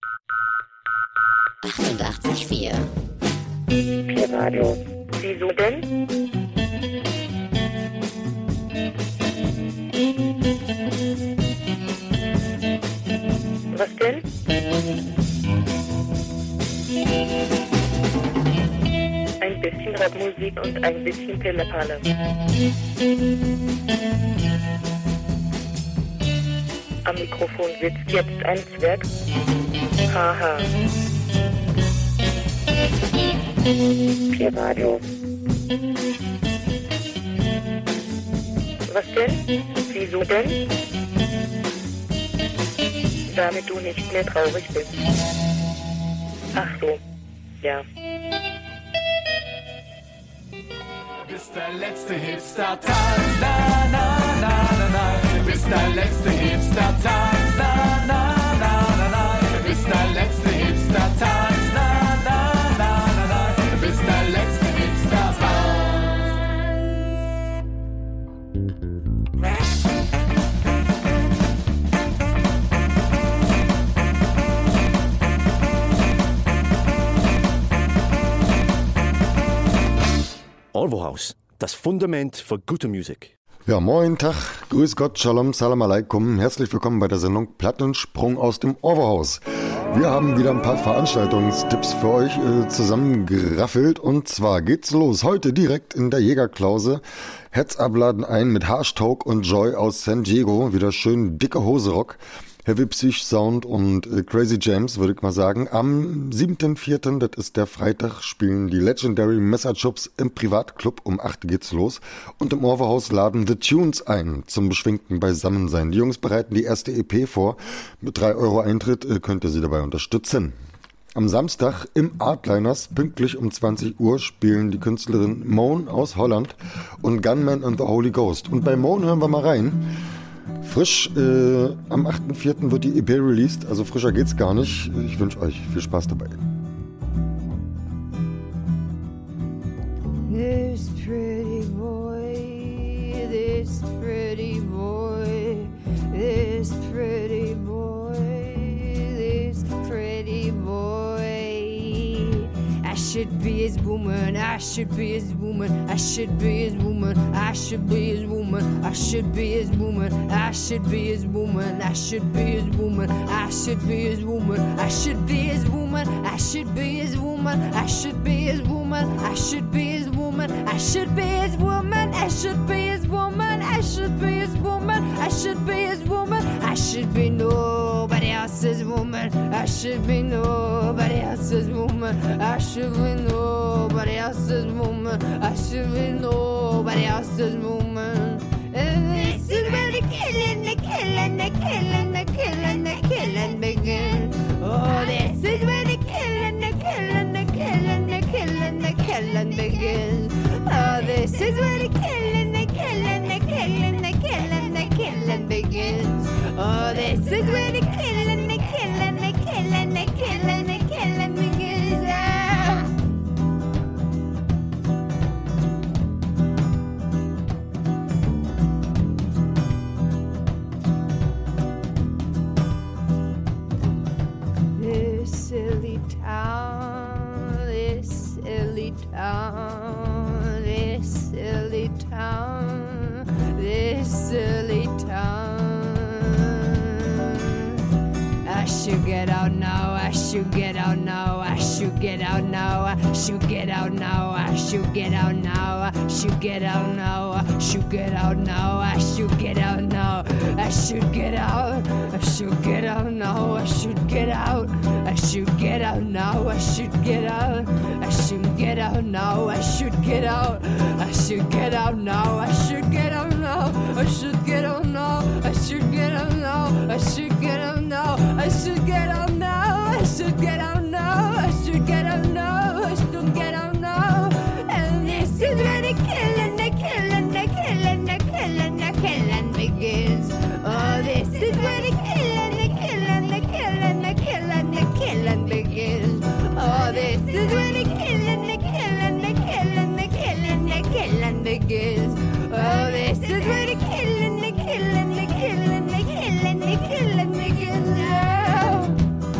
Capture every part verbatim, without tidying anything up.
achtundachtzig Komma vier. Pi-Radio. Wieso denn? Was denn? Ein bisschen Rapmusik und ein bisschen Pillepalle. Am Mikrofon sitzt jetzt ein Zwerg. Haha. Pi-Radio. Was denn? Wieso denn? Damit du nicht mehr traurig bist. Ach so, ja. Du bist der letzte Hipster-Tanz, na, na, na, na, na. Du bist der letzte Hipster-Tanz, na, na, na, na, na. Du bist der letzte Hipster-Tanz, na, na, na, na, na. Du bist der letzte Hipster-Tanz. Olvohaus, das Fundament für gute Musik. Ja, moin, Tag, grüß Gott, Shalom, Salam Aleikum. Herzlich willkommen bei der Sendung Plattensprung aus dem Orwohaus. Wir haben wieder ein paar Veranstaltungstipps für euch äh, zusammengeraffelt. Und zwar geht's los heute direkt in der Jägerklause. Heads abladen ein mit Harshtag und Joy aus San Diego. Wieder schön dicke Hose Rock. Heavy Psych Sound und äh, Crazy Jams, würde ich mal sagen. Am siebten vierten, das ist der Freitag, spielen die Legendary Messerchops im Privatclub. Um acht geht's los. Und im Orwohaus laden The Tunes ein zum beschwingten Beisammensein. Die Jungs bereiten die erste E P vor. Mit drei Euro Eintritt äh, könnt ihr sie dabei unterstützen. Am Samstag im Artliners, pünktlich um zwanzig Uhr, spielen die Künstlerin Moan aus Holland und Gunman and the Holy Ghost. Und bei Moan hören wir mal rein. Frisch, äh, am achten vierten wird die E P released, also frischer geht's gar nicht. Ich wünsche euch viel Spaß dabei. This pretty boy, this pretty boy, this pretty boy, this pretty boy. I should be his woman, I should be his woman, I should be his woman, I should be his woman, I should be his woman, I should be his woman, I should be his woman, I should be his woman, I should be his woman, I should be his woman, I should be his woman, I should be his woman, I should be his woman, I should be his woman, I should be his woman, I should be his woman, I should be nobody else's woman, I should be nobody else's woman, I should be nobody else's woman, I should be nobody else's woman. And this is where the killing, the killing, the killing, the killing, the killing begins. Oh, this is where the killing, the killing, the killing, the killing, the killing begins. Oh, this is where the killing, the killing, the killing, the killing, the killing begins. Oh, this is where the killing, the killing, the killing, the killing, the killing begins. Oh. This silly town, this silly town, this silly town, this silly town. I should get out now, I should get out now, I should get out now, I should get out now, I should get out now, I should get out now, I should get out now, I should get out now, I should get out, I should get out now, I should get out, I should get out now, I should get out, I should get out now, I should get out, I should get out now, I should get out now, I should get out now, I should get out now, I should get out now, I should get out now, I should get out now, I should get out now, I should get out now, and this is where the killing, the killing, the killing, the killing, the killing begins. Oh, this is where the killing, the killing, the killing, the killing, the killing begins. Oh, this is where the killing, the killing, the killing, the killing, the killing begins. Oh, this is where the killing, the killing, the killing, the killing, the killing begins. Oh.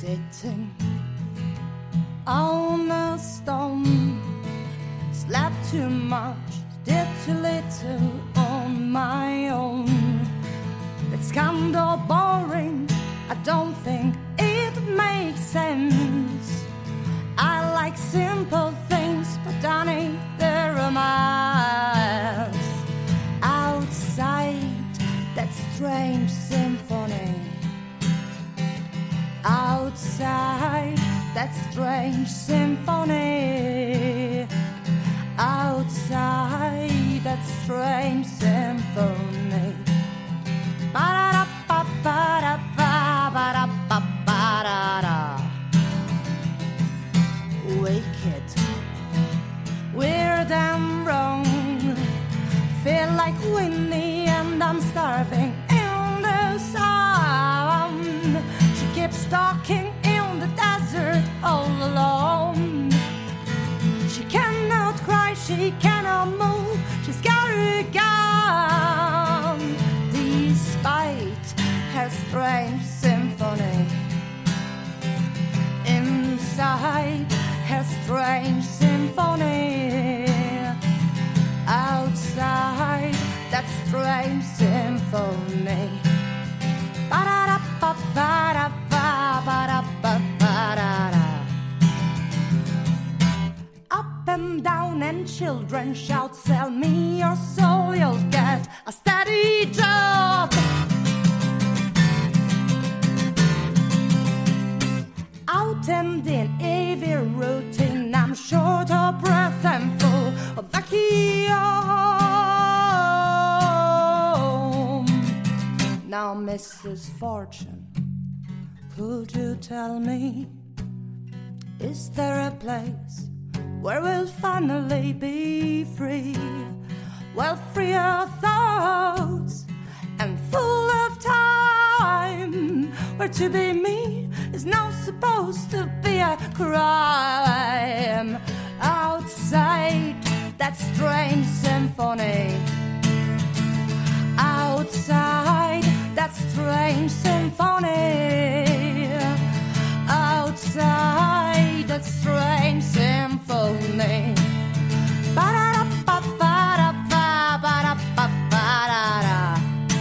sitting on a stone. Slept too much, did too little on my own. It's kinda boring, I don't think it makes sense. I like simple things, but Danny, they're a mess. Outside that strange symphony, outside that strange symphony, outside that strange symphony. Ba-da-da-ba-ba-da-ba-ba-da-ba-da-da. Wicked, weird and wrong. Feel like Winnie and I'm starving in the sun. She keeps stalking in the desert all alone. She cannot cry, she cannot move, she's got a gun. Despite her strange symphony, inside her strange symphony, outside that strange symphony. Ba-da-da-ba-ba-da-ba-ba-da-ba-da-da. Up and down and children shout, sell me your soul, you'll get a steady job. Out and in every routine, I'm short of breath and full of vacuum. Now, Missus Fortune, could you tell me, is there a place where we'll finally be free? Well, free of thoughts and full of time, where to be me is now supposed to be a crime. Outside that strange symphony, outside that strange symphony, outside that strange symphony. Ba-da-da-ba-ba-da-ba-ba-da-ba-da-da.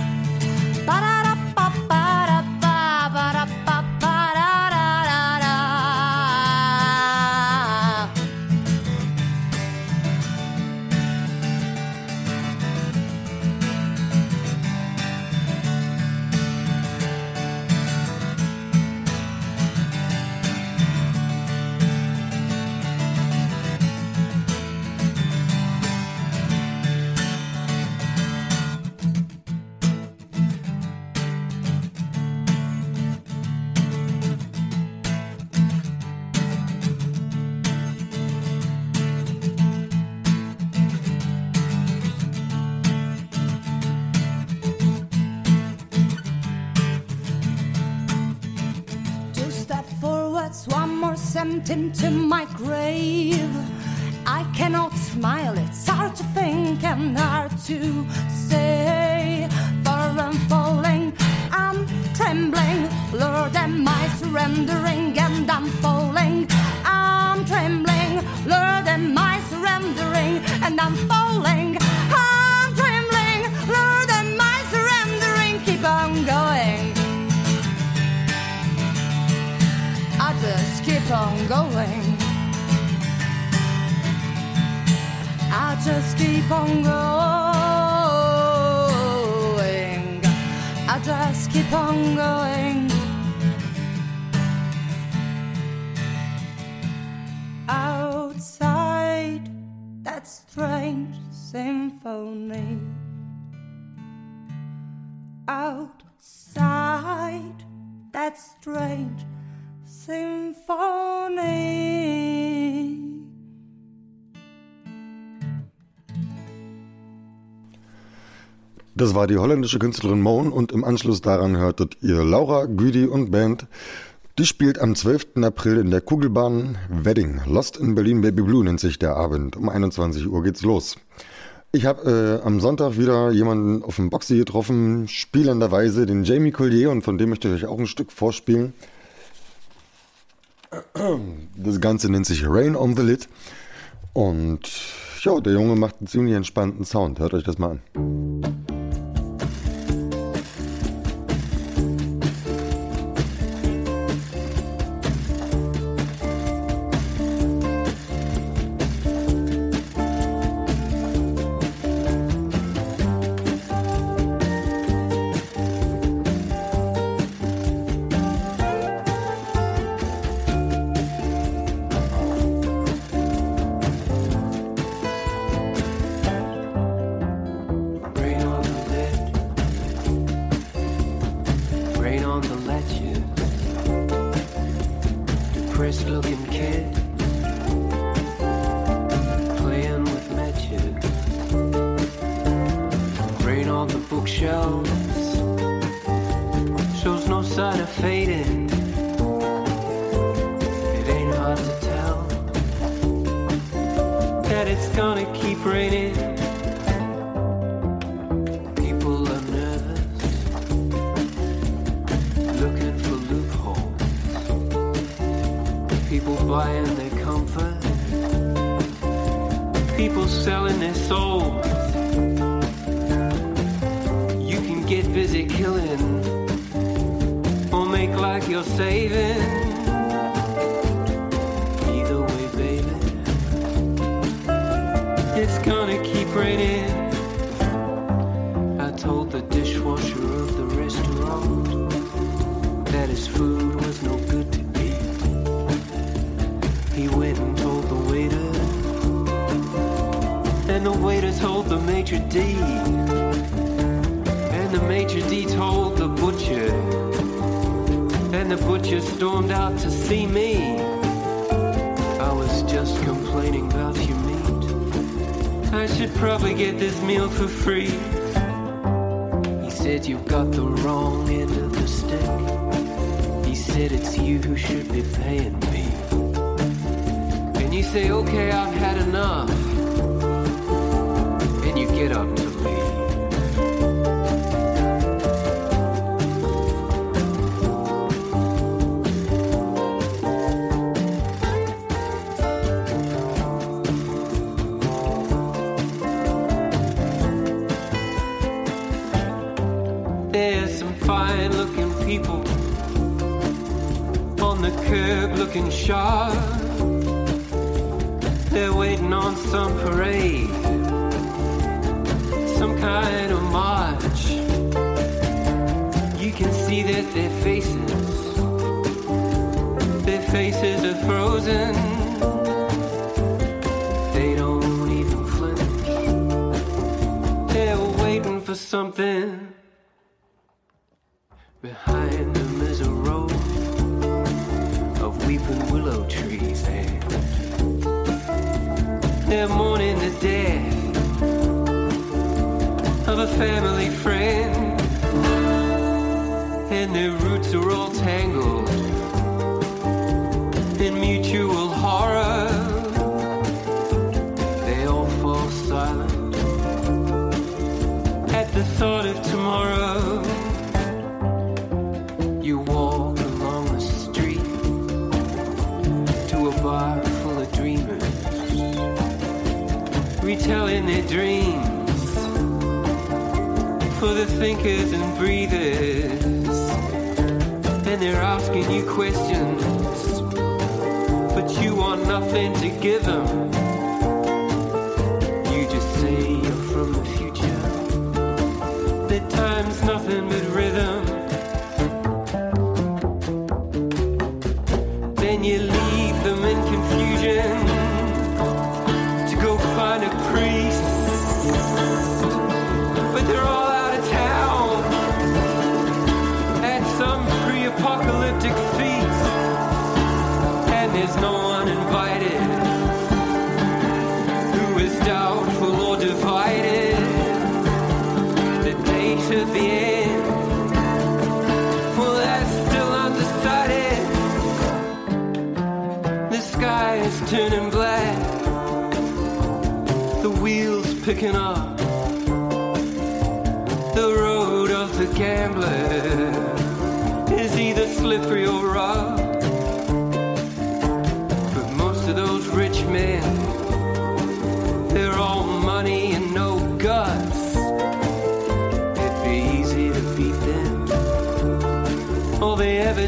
Sent into my grave. I cannot smile, it's hard to think and hard to say. For I'm falling, I'm trembling, Lord, am I surrendering? And I'm falling, I'm trembling, Lord, am I surrendering? And I'm falling, I'm trembling, Lord, am I surrendering? Keep on going, I just keep on going. I just keep on going. I just keep on going. Outside that strange symphony, outside that strange symphony. Das war die holländische Künstlerin Moan und im Anschluss daran hörtet ihr Laura, Güdi und Band. Die spielt am zwölften April in der Kugelbahn Wedding. Lost in Berlin Baby Blue nennt sich der Abend. Um einundzwanzig Uhr geht's los. Ich habe äh, am Sonntag wieder jemanden auf dem Boxy getroffen, spielenderweise den Jamie Collier, und von dem möchte ich euch auch ein Stück vorspielen. Das Ganze nennt sich Rain on the Lid. Und ja, der Junge macht einen ziemlich entspannten Sound. Hört euch das mal an.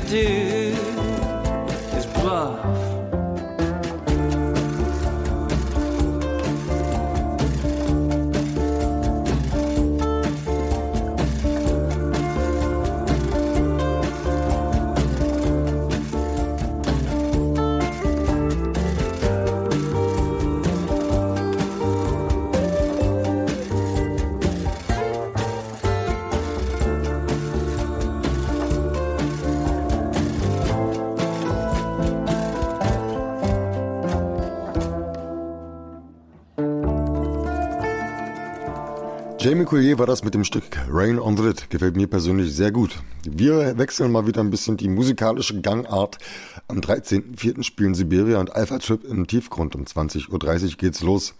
do is bluff. Jamie Collier war das mit dem Stück Rain on the Lid. Gefällt mir persönlich sehr gut. Wir wechseln mal wieder ein bisschen die musikalische Gangart. Am dreizehnten vierten spielen Siberia und Alpha Trip im Tiefgrund. Um zwanzig Uhr dreißig geht's los.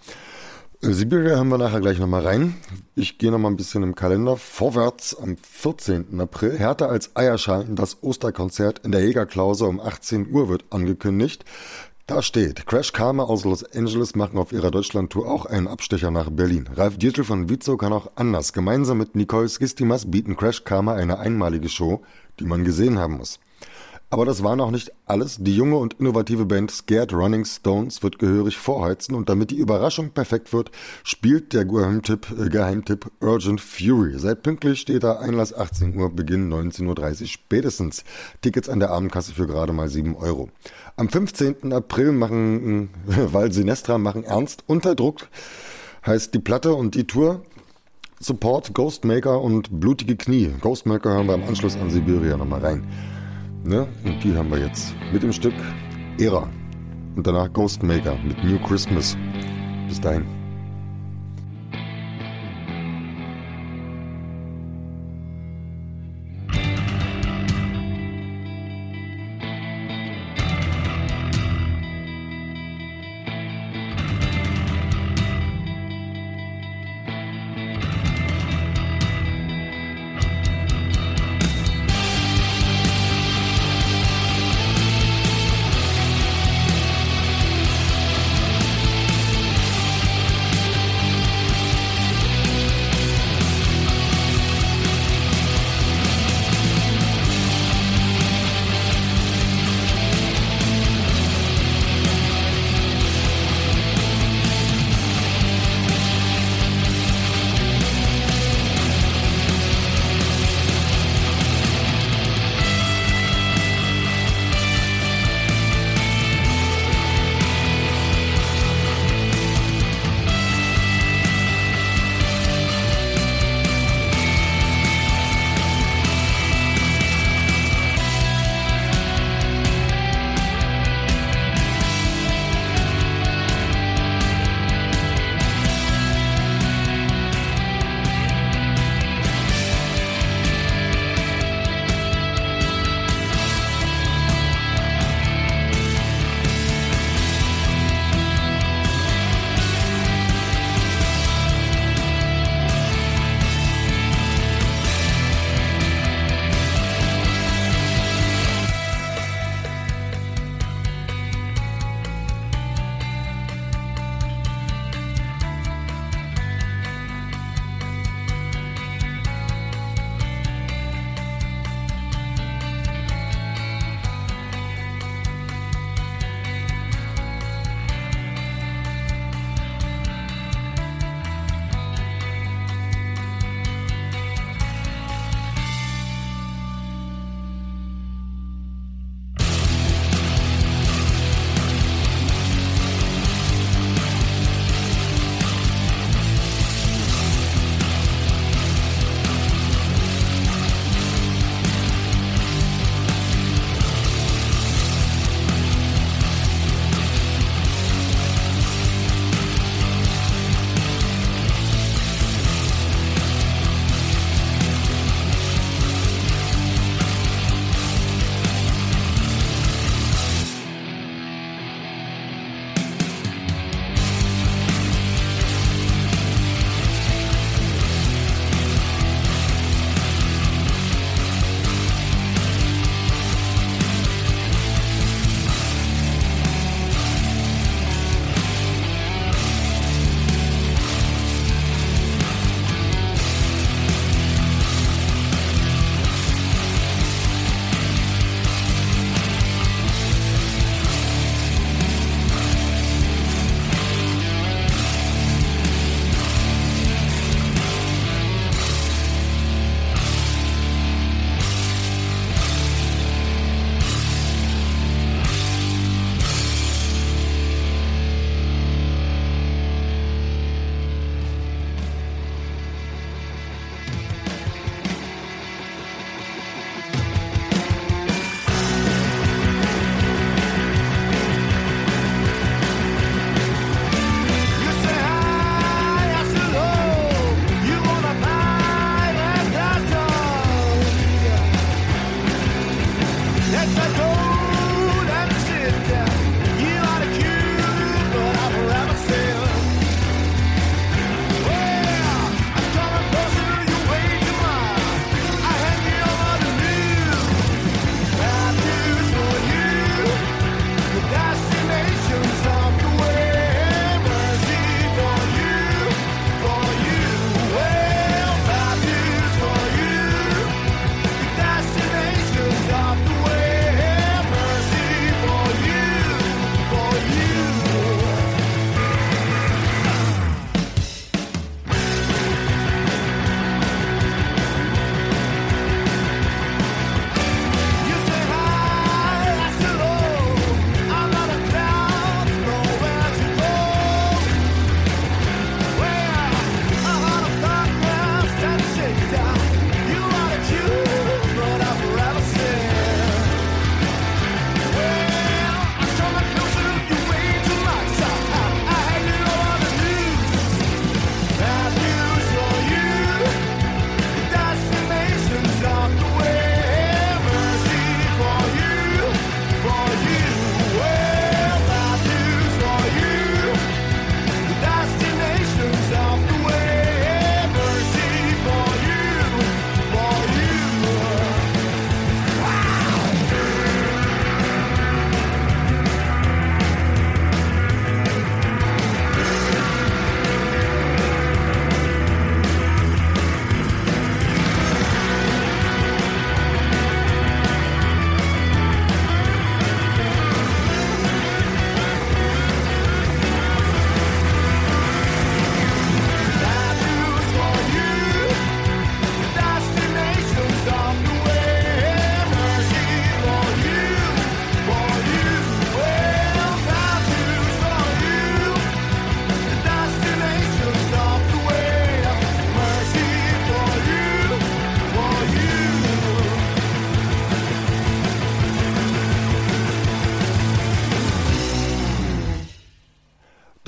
Siberia haben wir nachher gleich nochmal rein. Ich gehe nochmal ein bisschen im Kalender vorwärts. Am vierzehnten April, härter als Eierschalen, das Osterkonzert in der Jägerklause um achtzehn Uhr wird angekündigt. Da steht, Crash Karma aus Los Angeles machen auf ihrer Deutschlandtour auch einen Abstecher nach Berlin. Ralf Dietrich von Witzow kann auch anders. Gemeinsam mit Nicole Skistimas bieten Crash Karma eine einmalige Show, die man gesehen haben muss. Aber das war noch nicht alles. Die junge und innovative Band Scared Running Stones wird gehörig vorheizen und damit die Überraschung perfekt wird, spielt der Geheimtipp, äh, Geheimtipp Urgent Fury. Seid pünktlich, steht da, Einlass achtzehn Uhr, Beginn neunzehn Uhr dreißig spätestens. Tickets an der Abendkasse für gerade mal sieben Euro. Am fünfzehnten April machen, äh, weil Sinestra machen ernst unter Druck, heißt die Platte und die Tour. Support Ghostmaker und Blutige Knie. Ghostmaker hören wir im Anschluss an Siberia nochmal rein. Ne? Und die haben wir jetzt mit dem Stück Ära und danach Ghostmaker mit New Christmas. Bis dahin. Thank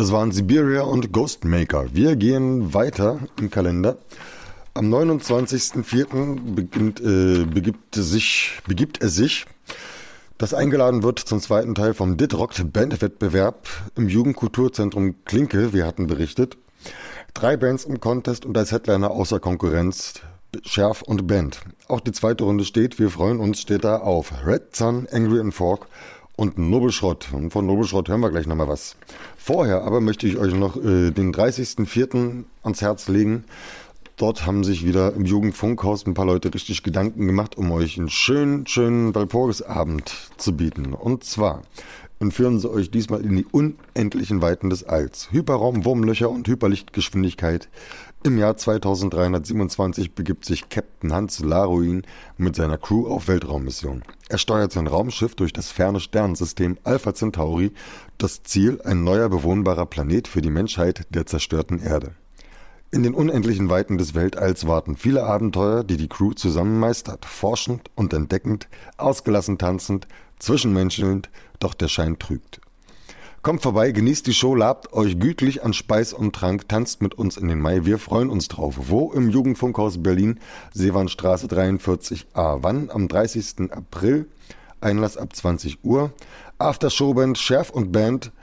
Das waren Siberia und Ghostmaker. Wir gehen weiter im Kalender. Am neunundzwanzigsten vierten beginnt, äh, begibt, sich, begibt es sich, dass eingeladen wird zum zweiten Teil vom Dit Rockt Bandwettbewerb im Jugendkulturzentrum Klinke. Wir hatten berichtet. Drei Bands im Contest und als Headliner außer Konkurrenz Scherf und Band. Auch die zweite Runde steht, wir freuen uns, steht da auf Red Sun, Angry and Fork und Nobelschrott. Und von Nobelschrott hören wir gleich nochmal was. Vorher aber möchte ich euch noch äh, den dreißigsten vierten ans Herz legen. Dort haben sich wieder im Jugendfunkhaus ein paar Leute richtig Gedanken gemacht, um euch einen schönen, schönen Walpurgisabend zu bieten. Und zwar entführen sie euch diesmal in die unendlichen Weiten des Alls. Hyperraum, Wurmlöcher und Hyperlichtgeschwindigkeit. Im Jahr zweitausenddreihundertsiebenundzwanzig begibt sich Captain Hans Laruin mit seiner Crew auf Weltraummission. Er steuert sein Raumschiff durch das ferne Sternensystem Alpha Centauri. Das Ziel, ein neuer bewohnbarer Planet für die Menschheit der zerstörten Erde. In den unendlichen Weiten des Weltalls warten viele Abenteuer, die die Crew zusammen meistert. Forschend und entdeckend, ausgelassen tanzend, zwischenmenschelnd, doch der Schein trügt. Kommt vorbei, genießt die Show, labt euch gütlich an Speis und Trank, tanzt mit uns in den Mai, wir freuen uns drauf. Wo? Im Jugendfunkhaus Berlin, Seewandstraße dreiundvierzig a. Wann? Am dreißigsten April, Einlass ab zwanzig Uhr. After-Showband, Scherf und Band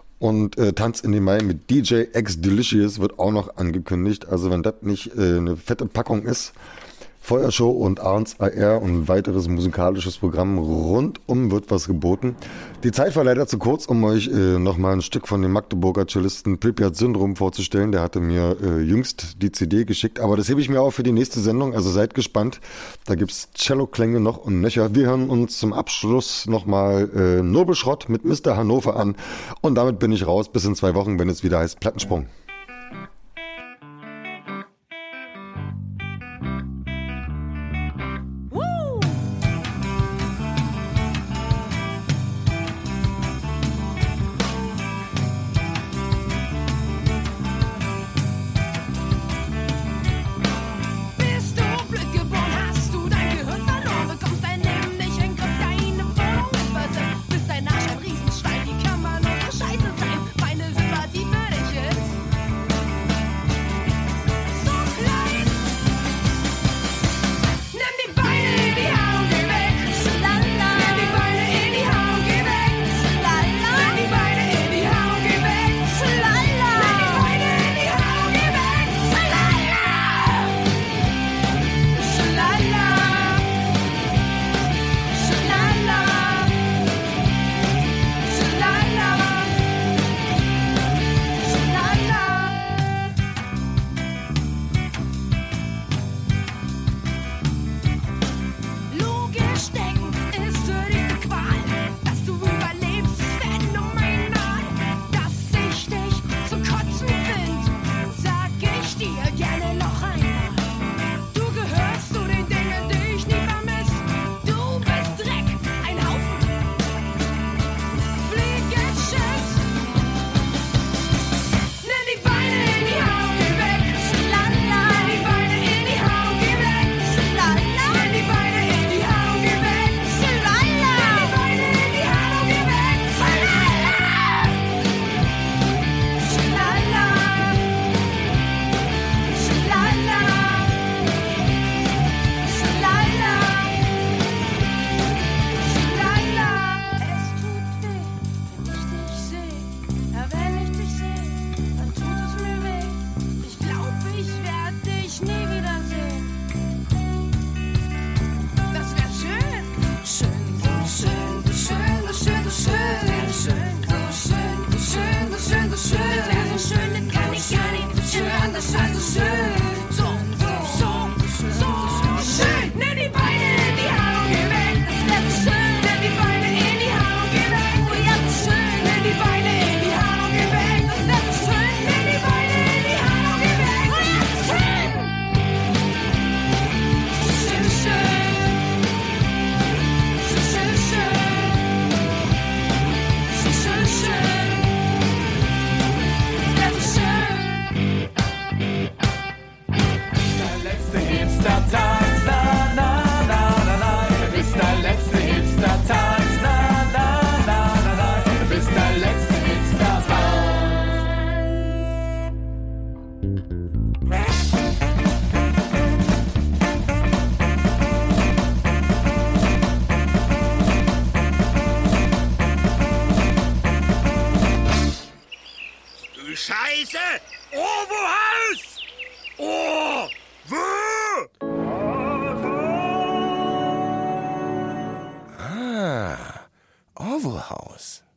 und äh, Tanz in den Mai mit D J X Delicious wird auch noch angekündigt. Also wenn das nicht äh, eine fette Packung ist, Feuershow und Arns A R und ein weiteres musikalisches Programm rundum wird was geboten. Die Zeit war leider zu kurz, um euch äh, nochmal ein Stück von dem Magdeburger Cellisten Pripyat Syndrom vorzustellen. Der hatte mir äh, jüngst die C D geschickt, aber das hebe ich mir auch für die nächste Sendung, also seid gespannt. Da gibt's Cello-Klänge noch und nöcher. Wir hören uns zum Abschluss nochmal äh, Nobelschrott mit Mister Hannover an und damit bin ich raus bis in zwei Wochen, wenn es wieder heißt Plattensprung. Scheiße sein, meine Sympathie für dich ist Scheiße! Orwo-Haus! Oh! Wo? Ah, Orwo-Haus.